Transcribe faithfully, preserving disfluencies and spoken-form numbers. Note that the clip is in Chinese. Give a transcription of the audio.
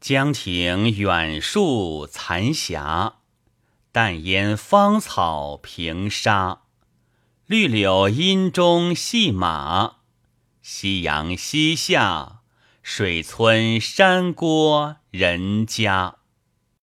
江亭远树残霞，淡烟芳草平沙。绿柳阴中戏马，夕阳西下，水村山郭人家。